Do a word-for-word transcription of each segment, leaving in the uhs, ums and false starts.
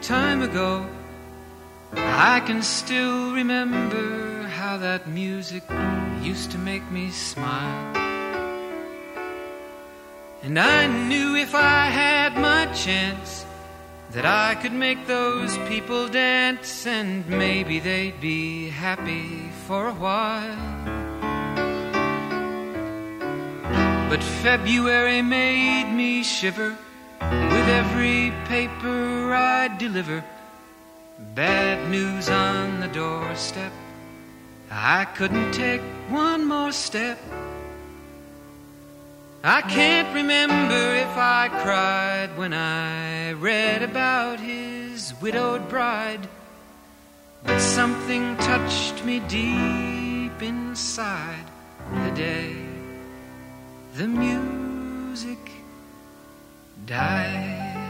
time ago. I can still remember how that music used to make me smile. And I knew if I had my chance that I could make those people dance, and maybe they'd be happy for a while. But February made me shiver with every paper I'd deliver. Bad news on the doorstep. I couldn't take one more step. I can't remember if I cried when I read about his widowed bride, but something touched me deep inside the day the music died.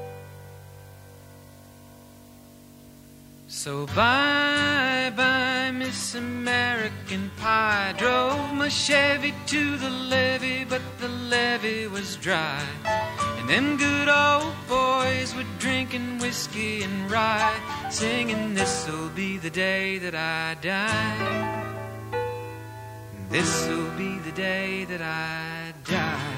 So bye-bye, Miss American Pie. Drove my Chevy to the levee, but the levee was dry. And them good old boys were drinking whiskey and rye, singing, this'll be the day that I die. This'll be the day that I die.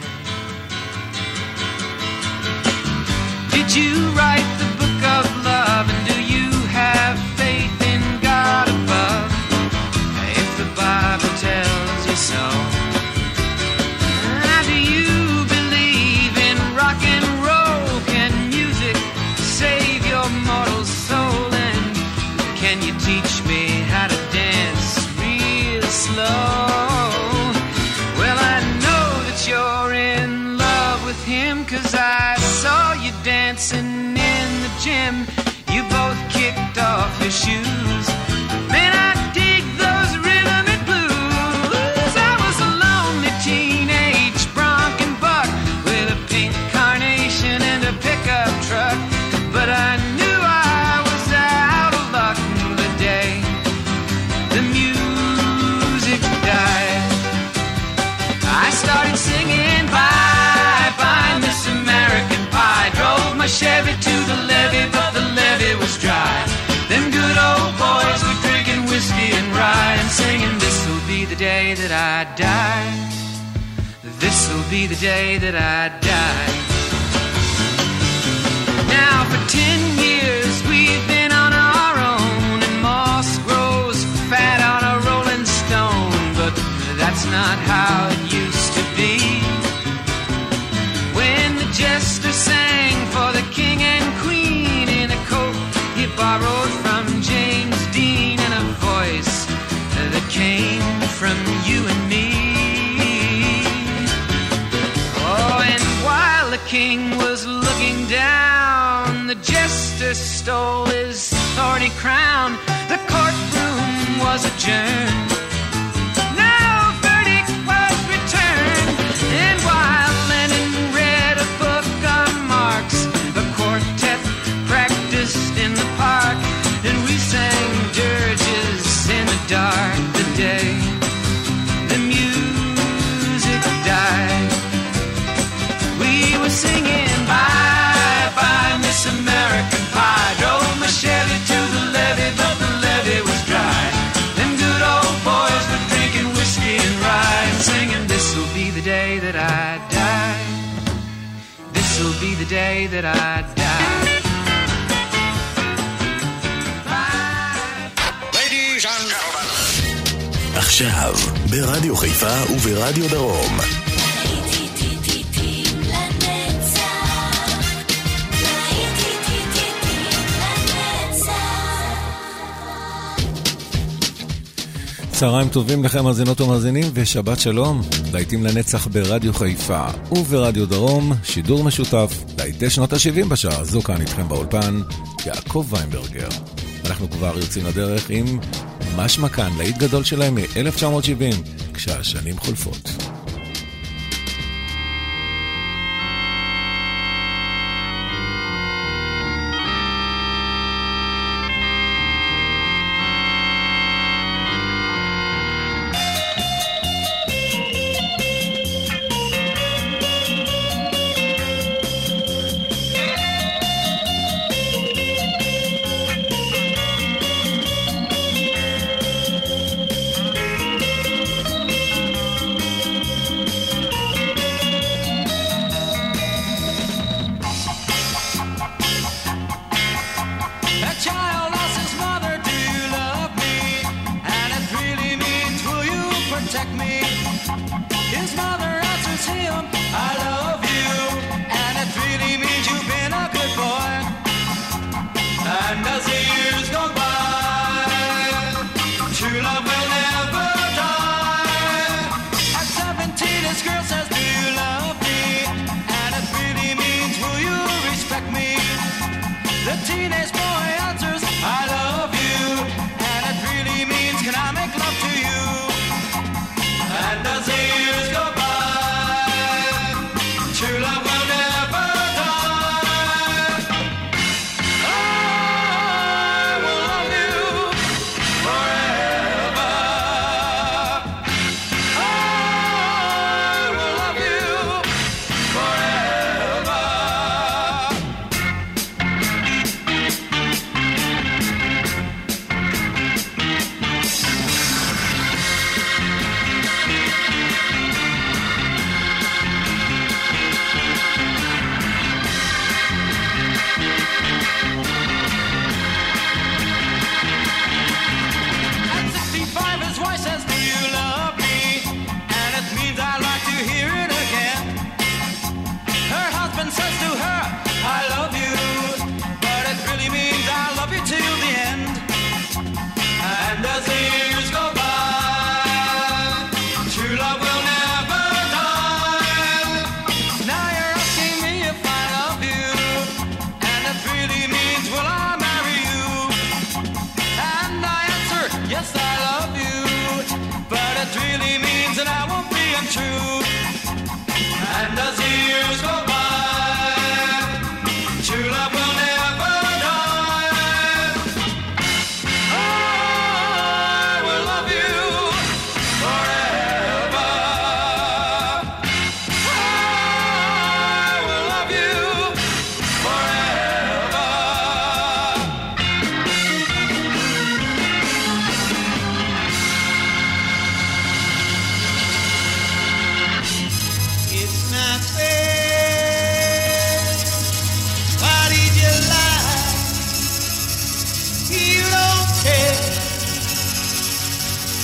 Did you write the book of love, and do you have faith in God above? If the Bible tells you so, do you believe in rock and roll? Can music save your mortal soul? And can you teach me how to dance real slow? Well, I know that you're in love with him, 'cause I saw you dancing in the gym. You both kicked off your shoes. Man, I dig those rhythm and blues. I was a lonely teenage bronco buck with a pink carnation and a pickup truck, but I knew I was out of luck the day the music died. I started singing bye-bye, Miss American Pie. Drove my Chevy to the levee, but the levee was dry. Them good old boys were drinking whiskey and rye, and singing, this'll be the day that I die. This'll be the day that I die. Now for ten years we've been on our own, and moss grows fat on a rolling stone, but that's not how it used to be. When the jester sang for the king and queen in a coat he borrowed from James Dean, and a voice that came from you and me. Oh, and while the king was looking down, the jester stole his thorny crown. The courtroom was adjourned. No verdict was returned. And while Lennon read a book on Marx, the quartet practiced in the park, and we sang dirges in the dark the day the music died. We were singing bye-bye, Miss American Pie. Drove my Chevy to the levee, but the levee was dry. Them good old boys were drinking whiskey and rye, and singing, this'll be the day that I die. This'll be the day that I die. Ladies and gentlemen. עכשיו, ברדיו חיפה וברדיו דרום. צהריים טובים לכם מאזינות ומאזינים, ושבת שלום. להיטים לנצח ברדיו חיפה וברדיו דרום, שידור משותף להיטי שנות ה-שבעים בשעה הזו. כאן איתכם באולפן יעקב ויינברגר. אנחנו כבר יוצאים לדרך עם משמע כאן, להיט גדול שלהם מ-אלף תשע מאות שבעים, כשהשנים חולפות.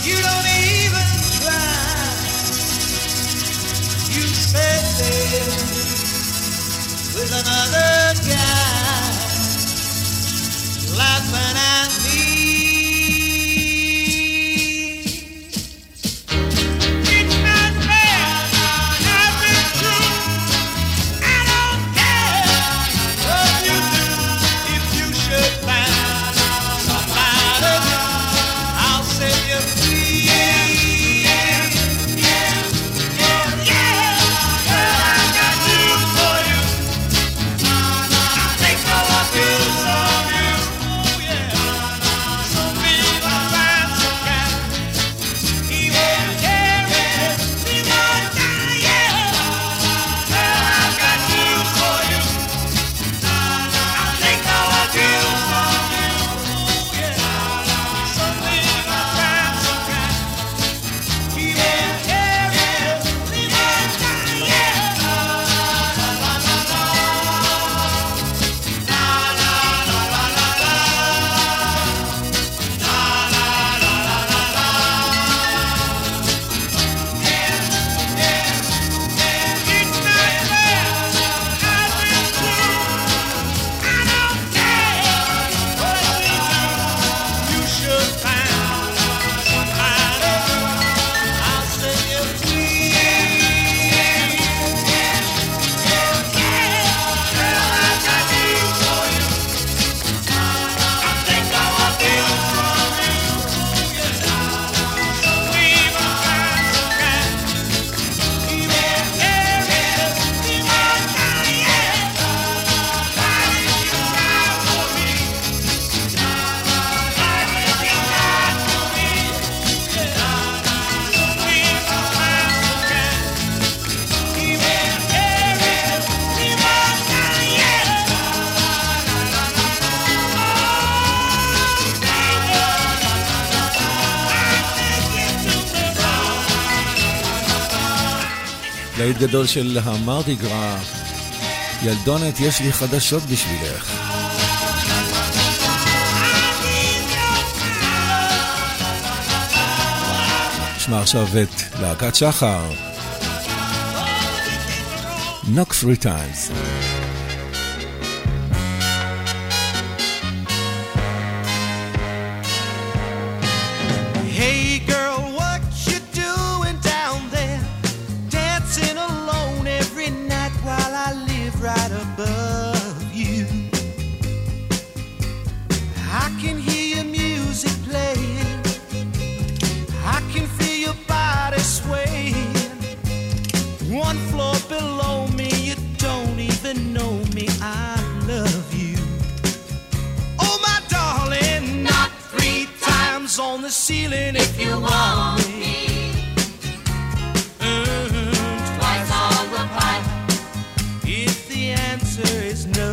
You don't even try. You said there with another guy, laughing at me. It's not fair, I've been through. I don't care what you do. If you should find somebody, I'll set you free. Yeah, yeah, yeah, yeah. Girl, I got news for you. I think I want you from you. Oh yeah. So be my find some guy. He won't carry, he won't die. Yeah. Girl, I got news for you. I think I want you from you. Oh yeah. So be my find some guy. He won't carry, he won't die. Yeah. להיט גדול של המרדי גרא. ילדונת, יש לי חדשות בשבילך. נשמע עכשיו את להקת שחר. Knock three times. Hey girl, what you doing down there? Dancing alone every night while I live right above you. I can hear your music playing. I can feel your body swaying. One floor below me, you don't even know me. I love you. Oh my darling, knock three times on the ceiling if you want me. Mm, twice on the pipe if the answer is no.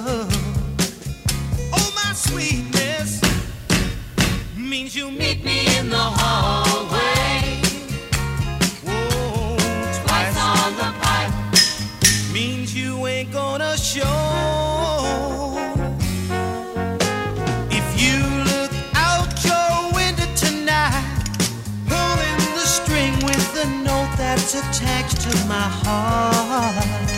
Oh my sweetness means you meet me in the hallway. Whoa, twice on the pipe means you ain't gonna show. If you look out your window tonight, pulling the string with the note that's attached to my heart,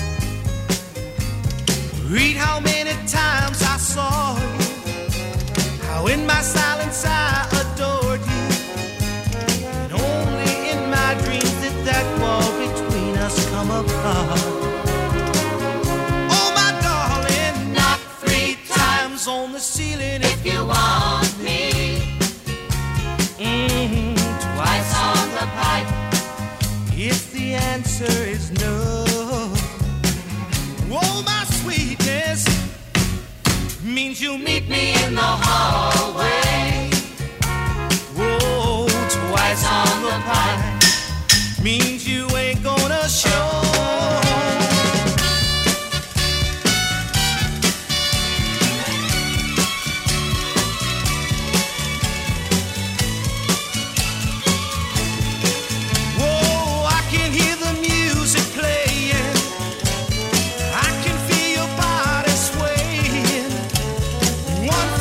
read how many times I saw you, how in my silence I adored you, and only in my dreams did that wall between us come apart. Oh my darling, knock three times on the ceiling if you want me. Mm-hmm. Twice on the pipe if the answer is no. Oh my sweetness means you meet me in the hallway. Whoa, twice on the pipe means you ain't gonna show. Whoa, I can hear the music playing. I can feel your body swaying. One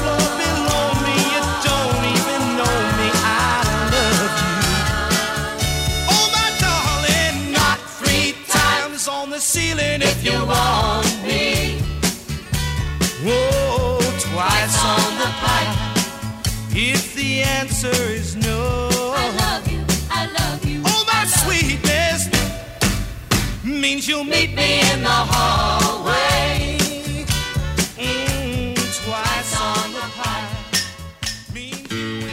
Oh, twice on the pipe. If the answer is no, I love you, I love you. oh, my sweetness means you'll meet me in the hallway. Mm, twice on the pipe means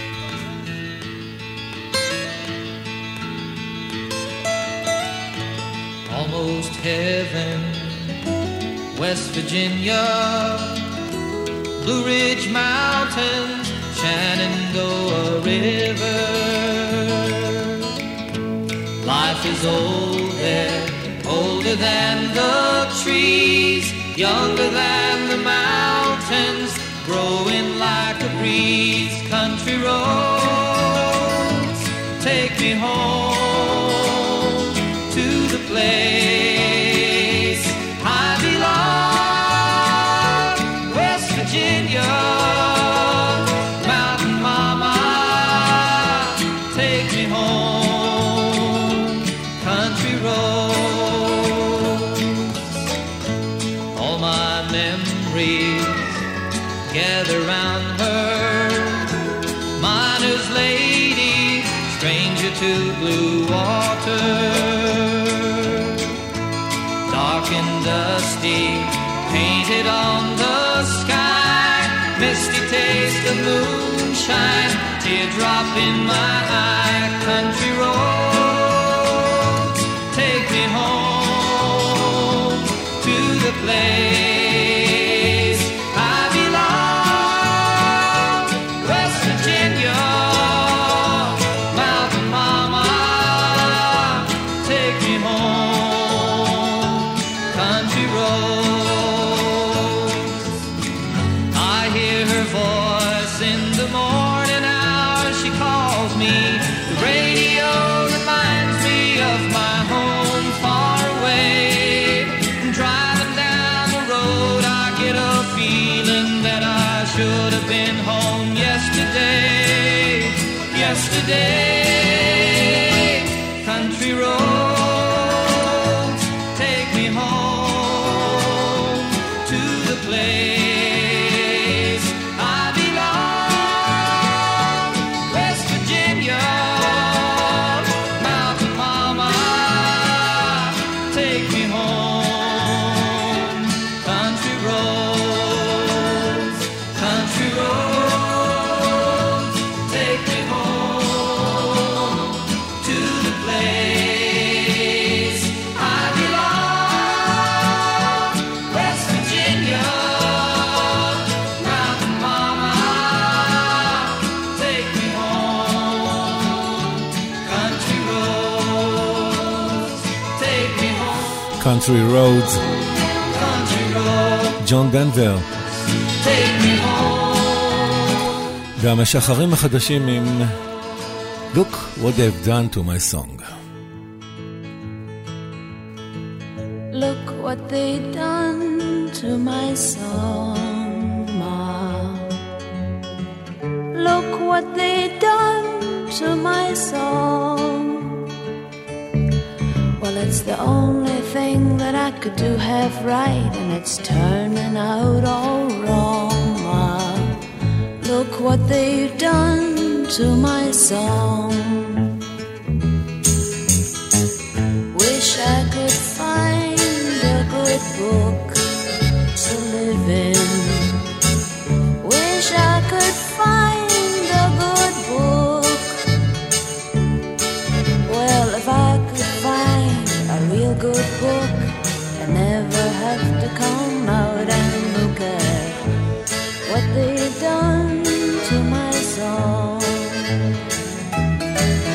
almost heaven, West Virginia, Blue Ridge Mountains, Shenandoah River. Life is old there, older than the trees, younger than the mountains, growing like a breeze. Country roads, take me home to the place I belong, West Virginia. Mountain mama, take me home, country roads. All my memories gather round her, miner's lady, stranger to blue water. Dark and dusty, painted on the sky, misty taste of moonshine, teardrop in my eye. Country roads, take me home to the place I belong, West Virginia. Mountain mama, take me home, country roads. I hear her voice in the morning hour, she calls me. The radio reminds me of my home far away. Driving down the road, I get a feeling that I should have been home yesterday. Yesterday, country roads, take me home to the place I belong, West Virginia. Mountain mama, take me home, country roads, country roads, take me home to the place I belong, West Virginia. Mountain mama, take me home, country roads, take me home, Country Roads, country roads, ג'ון דנבר. take me home. והמשחרים החדשים עם Look what they've done to my song. Look what they done to my song, Mom. Look what they done to my song. Well, it's the only thing that I could do half right, and it's turning out all wrong, Mom. Look what they've done to my song. Wish I could find a good book to live in. Wish I could find a good book. Well, if I could find a real good book, I never have to come out and look at what they've done to my song.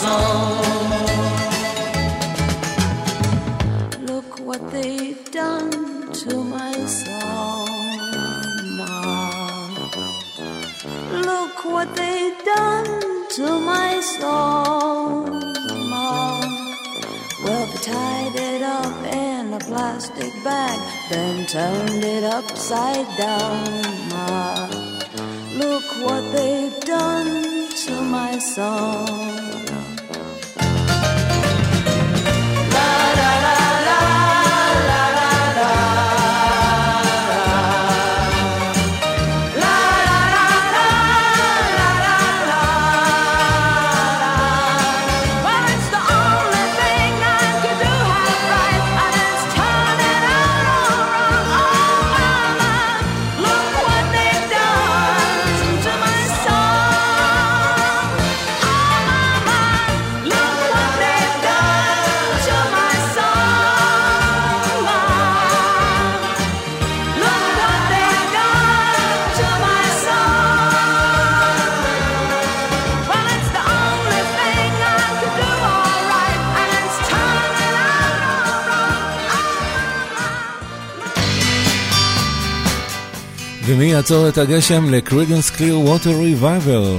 Look what they've done to my song, Ma. Look what they've done to my song, Ma. Well, they tied it up in a plastic bag, then turned it upside down, Ma. Look what they've done to my song. ומי יעצור את הגשם? לקרידנס קליר ווטר ריבייבל.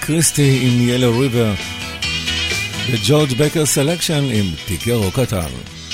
קריסטי עם ילו ריבר וג'ורג' בקר סלקשן עם טיקרו קטן.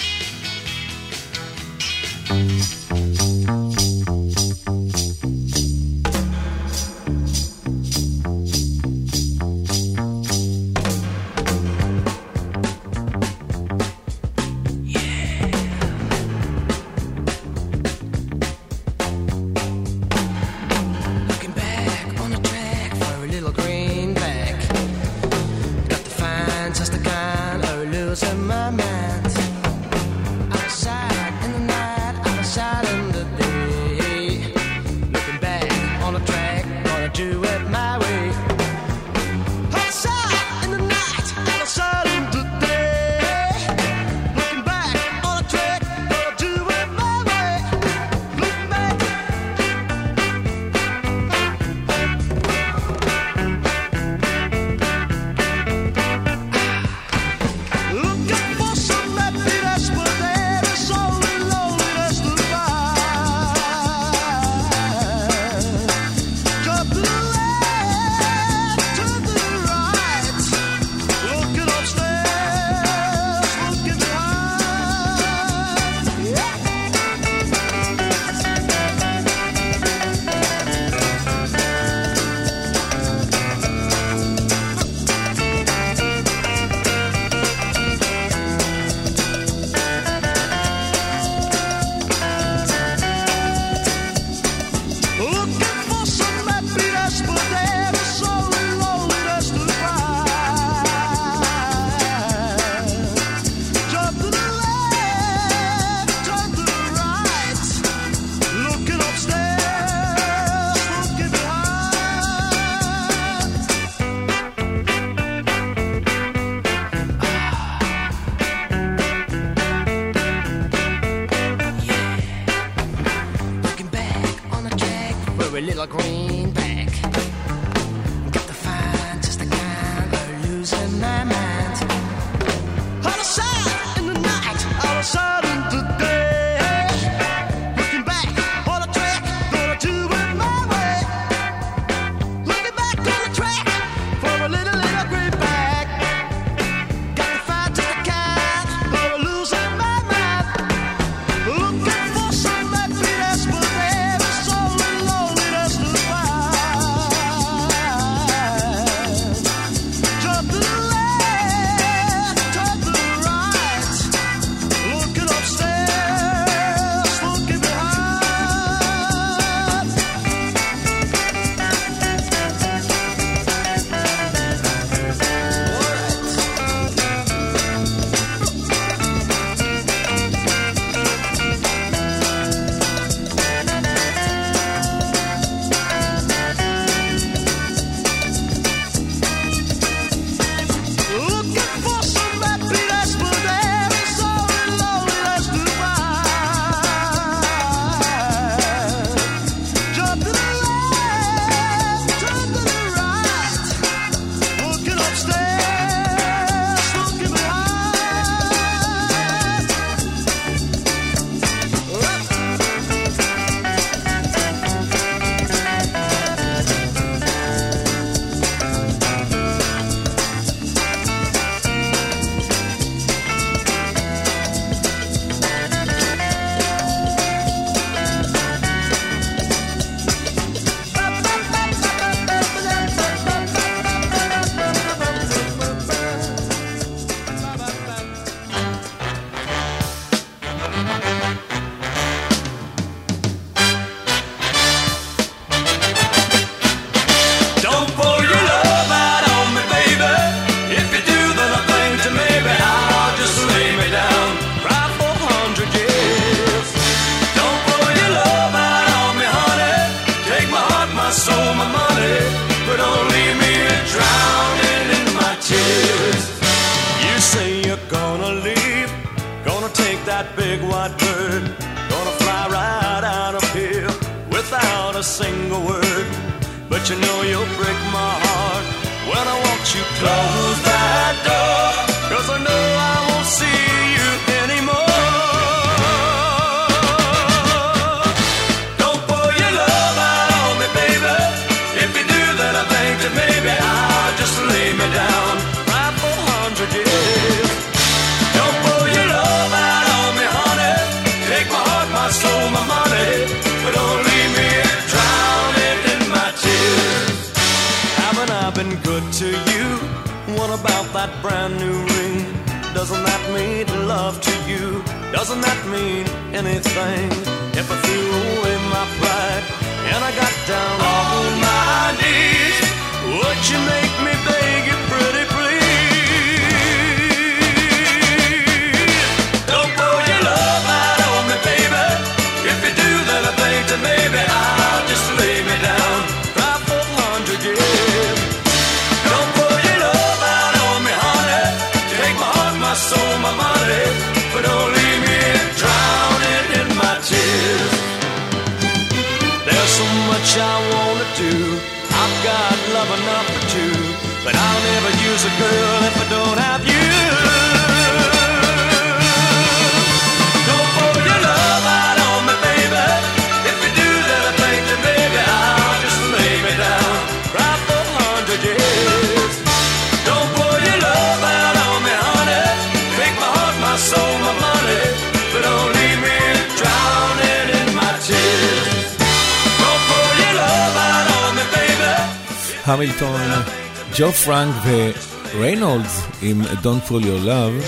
You know you'll break my heart when I watch you close that door, 'cause I know I won't see you anymore. Don't pour your love out on me, baby. If you do, then I think that maybe I'll doesn't that mean love to you? Doesn't that mean anything? If I threw away my pride and I got down on my knees, would you make me beg you pretty please? Don't pour your love out on me, baby. If you do, then I think that maybe I'll just lay me down five four hundred years. Don't pour your love out on me, honey. Take my heart, my soul, my money, but don't leave me drowning in my tears. There's so much I wanna do. I've got love enough for two, but I'll never use a girl if I don't have you. Don't pour your love out on me, baby. If you do, then I think that maybe I'll just lay me down right for a hundred years. Don't pour your love out on me, honey. Take my heart, my soul, my money, but don't leave me drowning in my tears. Don't pour your love out on me, baby. המילטון, ג'ו פרנק וריינולדס עם Don't Pull Your Love.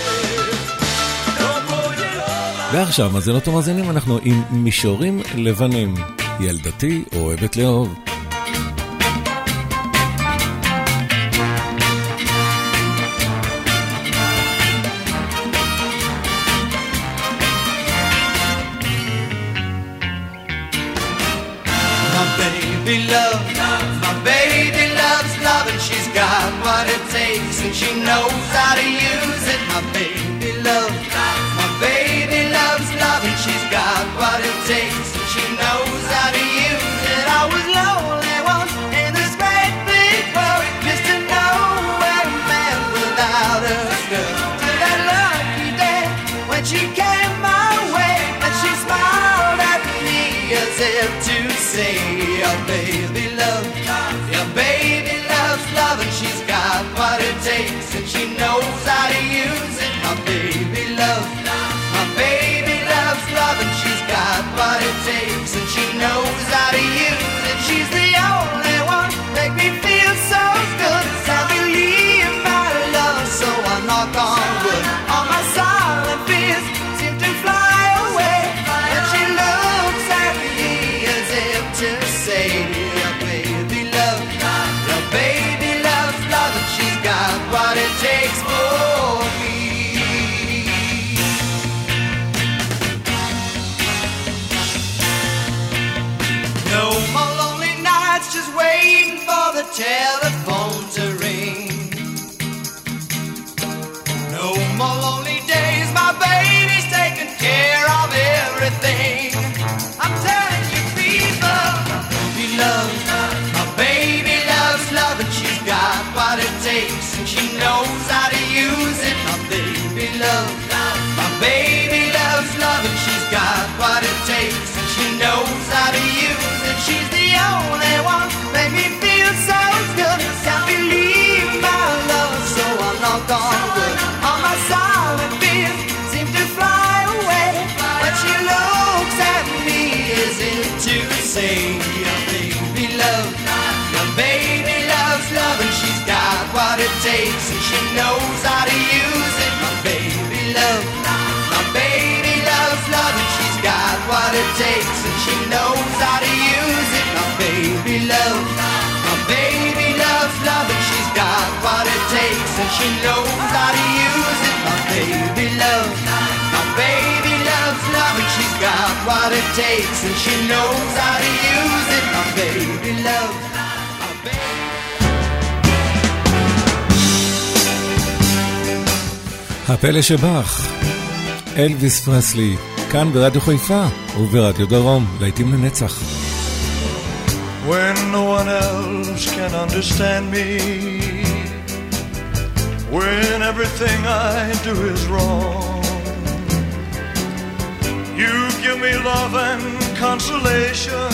ועכשיו, מאזינות ומאזינים, אנחנו עם מישורים לבנים. ילדתי אוהבת לאהוב. baby love, my baby loves love, and she's got what it takes, and she knows how to use it. My baby love, my baby loves love, and she's got what it takes, and she knows how to use it. I was lonely once in this great big world, just to know where a man without a girl. To that lucky day when she came my way, and she smiled at me as if to say, your baby love, your baby loves love, and she's got what it takes, and she knows how to use it. My baby love, my baby loves love, and she's got what it takes, and she knows how to use it. She's the only one make me feel so good. I believe my love, so I knock on wood. All my silent fears seem to fly away, and she looks at me as if to say, your baby love, your baby loves love, and she's got what it takes for me. No more lonely nights just waiting for the telephone to ring. No more lonely days, my baby's taking care of everything. I'm telling you people, my baby loves, my baby loves love, and she's got what it takes, and she knows how to use it. My baby loves, my baby loves love, and she's got what it takes, and she knows how to use it. She's the only one make me feel so good. Can't believe my love, so I knock on wood. All my silent fears seem to fly away, but she looks at me as if to say, your baby love, your baby loves love, and she's got what it takes, and she knows how to use it. My baby love, my baby loves love, and she's got what it takes, and she knows how to use it. My baby love, my baby loves love, and she's got what it takes, and she knows how to use it. My baby love, my baby loves love, and she's got what it takes, and she knows how to use it. My baby love, my baby. הפלא שבך, אלוויס פרסלי, כאן ברדיו חיפה וברדיו דרום, להיטים לנצח. When no one else can understand me, when everything I do is wrong, you give me love and consolation,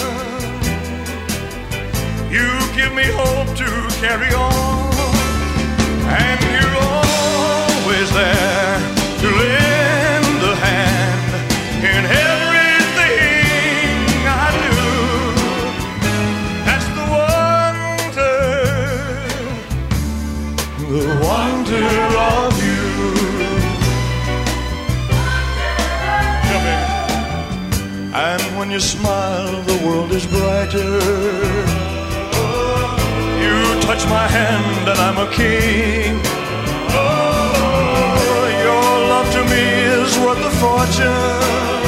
you give me hope to carry on, and you're always there to lend a hand in everything I do. That's the wonder, the wonder of you. you smile, the world is brighter. You touch my hand and I'm a king. Oh, your love to me is worth a fortune.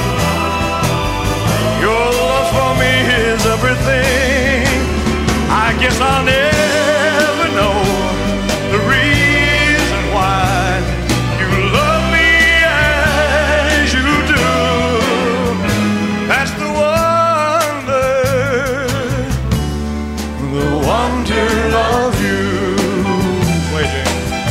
Your love for me is everything. I guess I'll never know the reason why you love me as you do. That's the wonder, the wonder of you. Waiting.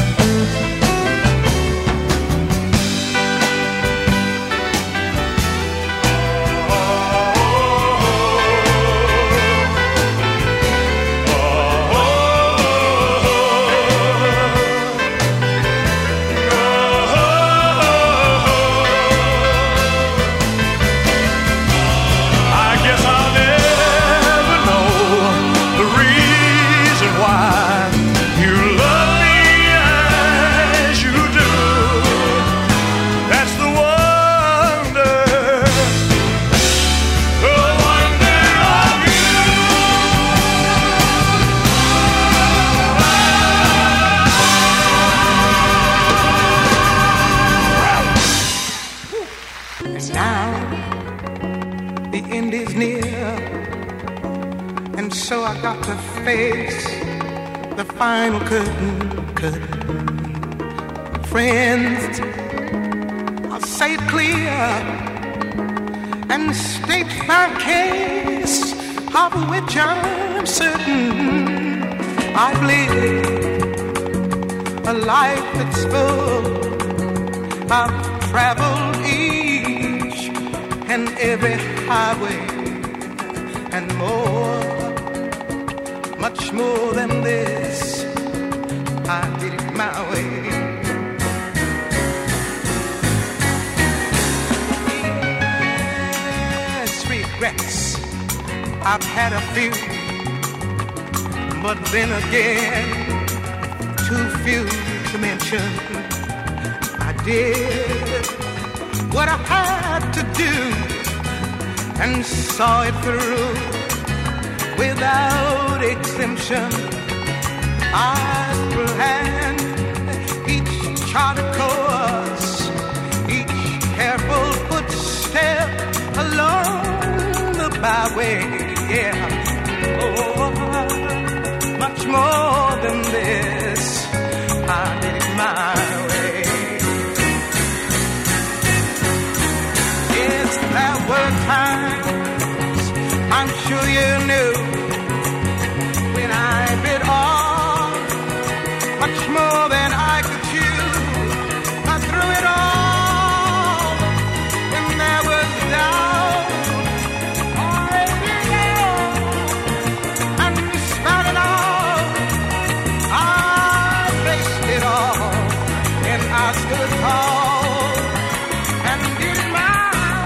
To face the final curtain, curtain. Friends, I'll say it clear and state my case, of which I'm certain. I've lived a life that's full. I've traveled each and every highway and more. Much more than this, I did it my way. Yes, regrets, I've had a few, but then again, too few to mention. I did what I had to do and saw it through without exemption. I planned each charted course, each careful footstep along the byway. Yeah, oh, much more than this, I did it my way. Yes, there were times, I'm sure you knew, when I bit off much more than I could chew. I threw it all when there was doubt or every and despite it all, I faced it all, and I stood tall and did it my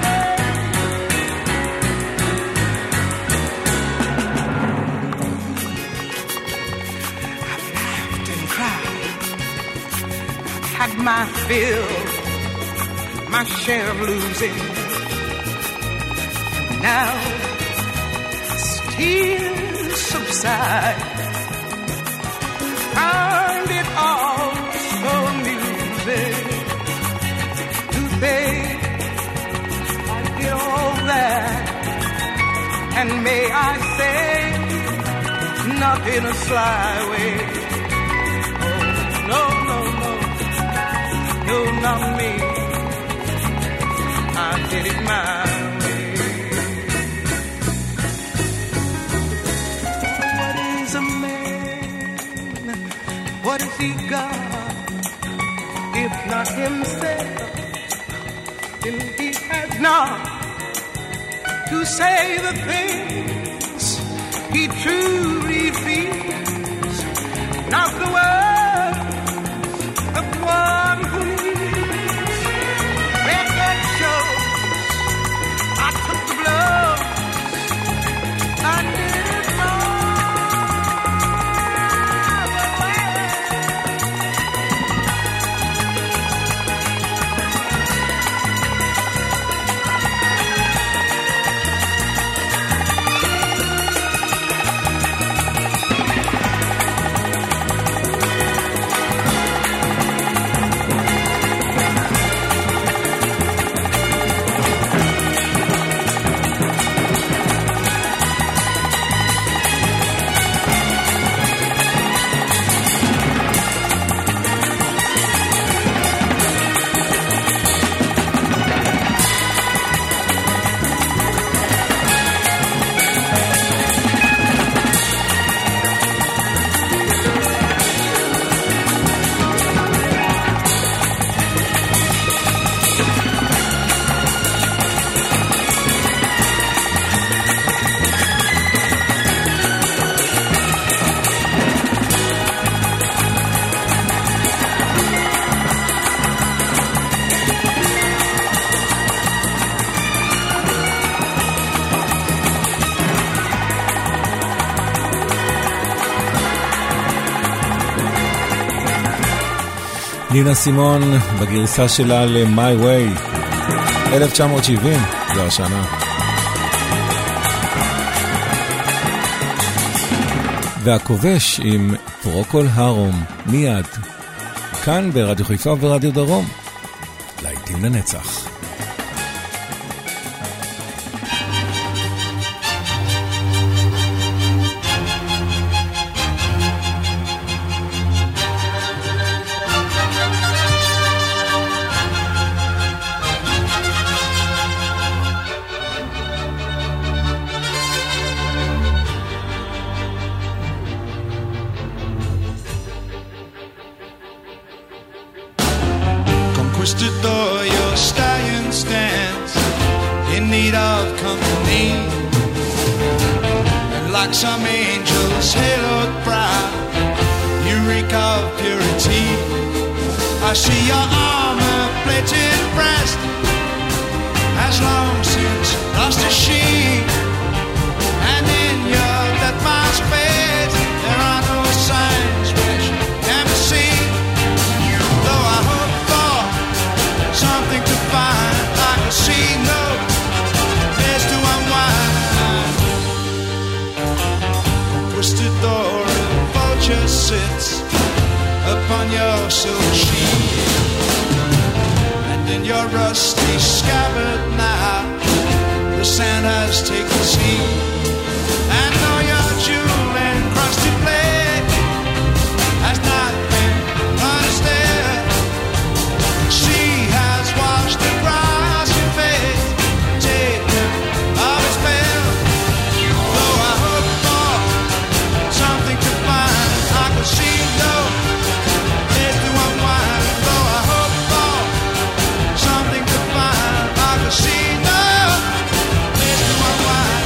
my fill, my share of losing. Now, as tears subside, find it all so amusing to think I did all that, and may I say, not in a sly way. Oh, no, no, no. No, not me. I did it my way. What is a man? What has he got? If not himself, then he has not to say the things he truly feels. Not the words of one who נינה סימון בגרסה שלה ל-My Way, אלף תשע מאות שבעים, זו השנה. והכובש עם פרוקול הרום, מיד, כאן ברדיו חיפה וברדיו דרום, להיטים לנצח. Conquistador, your stallion stands in need of company, and like some angel's haloed brow, you reek of purity. I see your armor-plated breast has long since lost its sheen, and in your death mask face there are no signs which can be seen. Though I hope for something to find, I can see no place to unwind. Conquistador, a vulture sits upon your silver sheet, and in your rusty scabbard now the sand has taken seed. And though your jewel-encrusted blade has not been understood, she has washed the grass in faith, taken of its veil. Though I hope for something to find, I can see no place to unwind. Though I hope for something to find, I can see no place to unwind.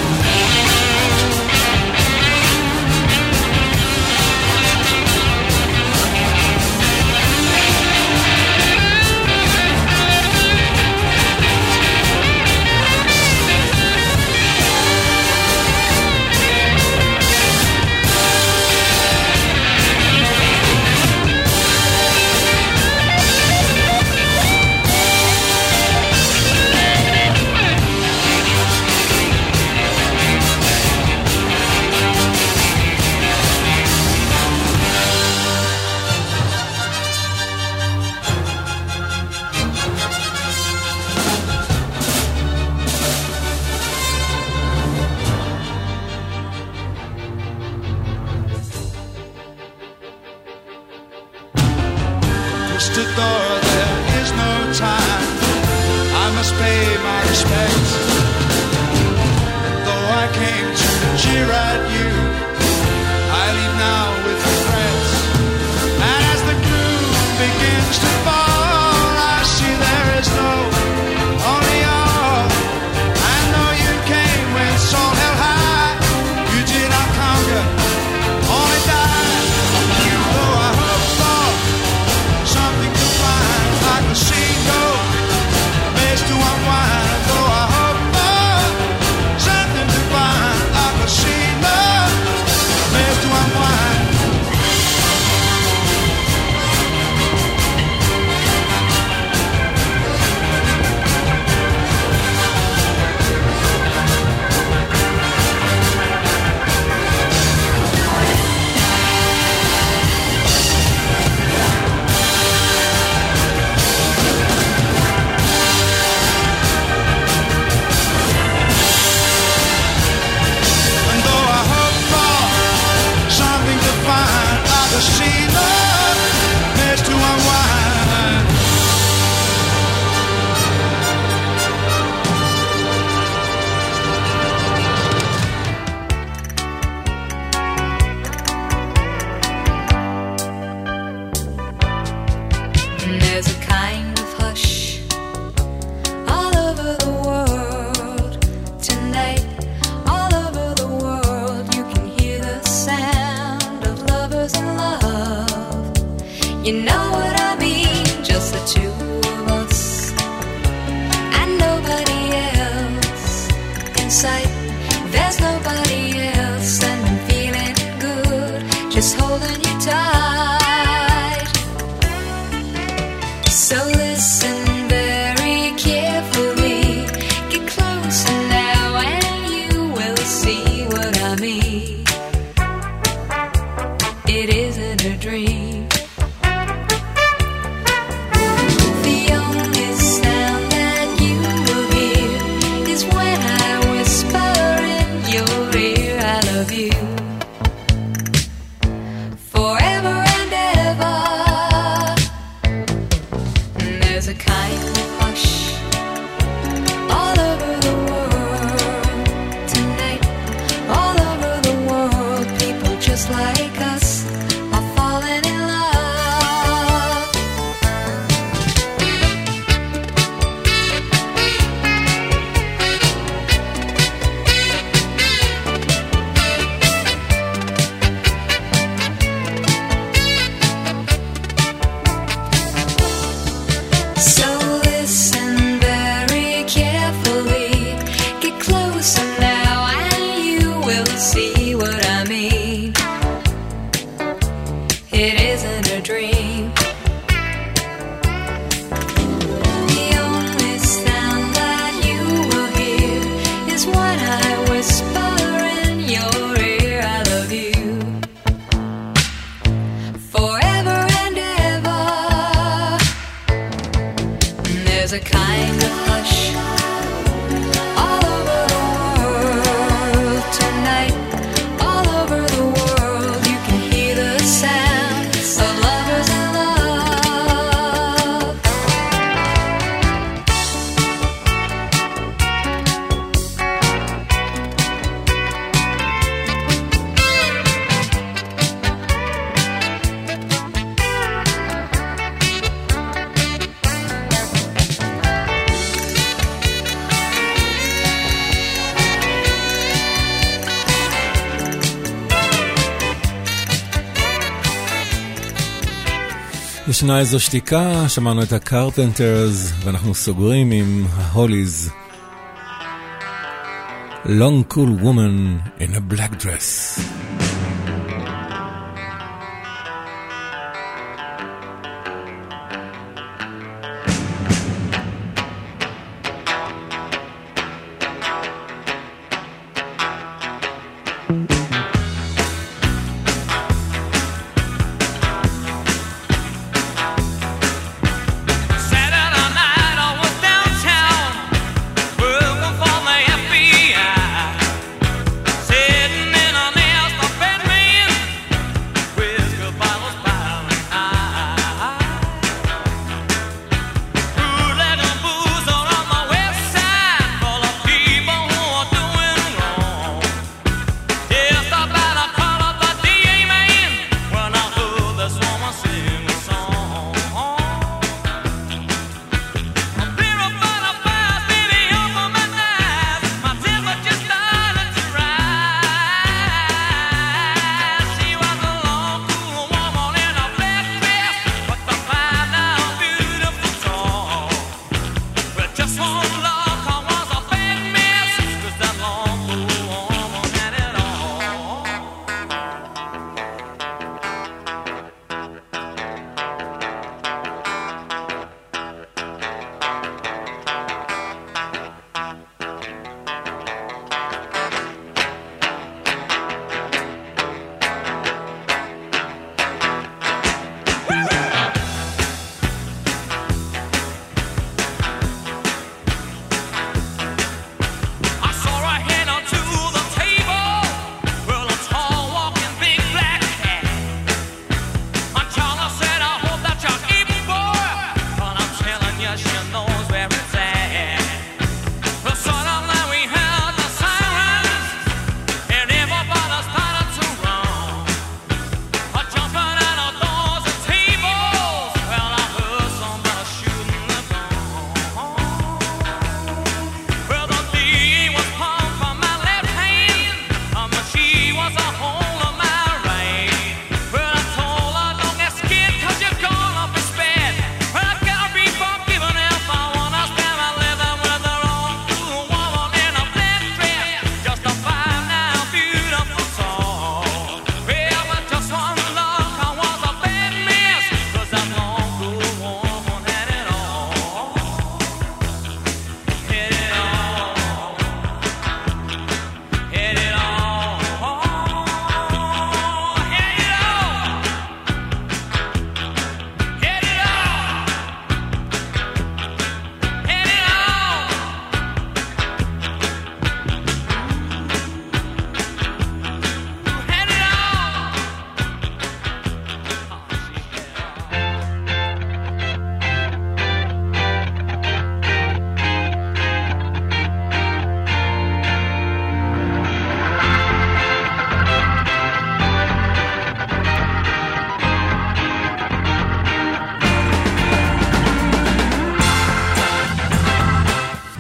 Conquistador, there is no time, I must pay my respects. And though I came to jeer at you, I leave now with regrets. And as the gloom begins to fall, I see there is no only all. I know you came when soul held high, you did not conquer, only die. Though I hope for something to find, I can see no place to unwind. Though I hope for something to find, I can see no place to unwind. And though I hope for something to find, I can see no place to unwind. There's a kind of hush all over the world tonight. All over the world, you can hear the sound of lovers in love. You know what I mean? Just the two of us and nobody else in sight. There's nobody else, and I'm feeling good, just holding you tight. There's a kind of hush all over the world tonight. All over the world, people just like us are falling in love. So listen very carefully. Get closer now and you will see what I mean. It isn't a dream. The only sound that you will hear is when I whisper in your ear, I love you forever and ever. There's a kind of hush all over the world tonight. All over the world, you can hear the sound of lovers in love. ישנה איזו שתיקה, שמענו את הקרפנטרס ואנחנו סוגרים עם ההוליז. Long cool woman in a black dress. Saturday night I was downtown working for the F B I, sitting in an air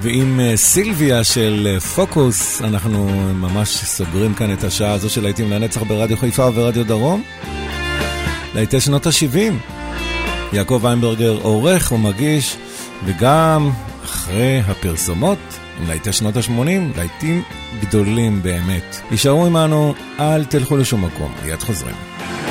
ועם סילביה של פוקוס אנחנו ממש סוגרים כאן את השעה הזו של להיטים לנצח ברדיו חיפה וברדיו דרום. להיטי שנות ה-שבעים. יעקב ויינברגר עורך ומגיש, וגם אחרי הפרסומות עם להיטי שנות ה-שמונים, להיטים גדולים באמת. יישארו עמנו, אל תלכו לשום מקום, מיד חוזרים.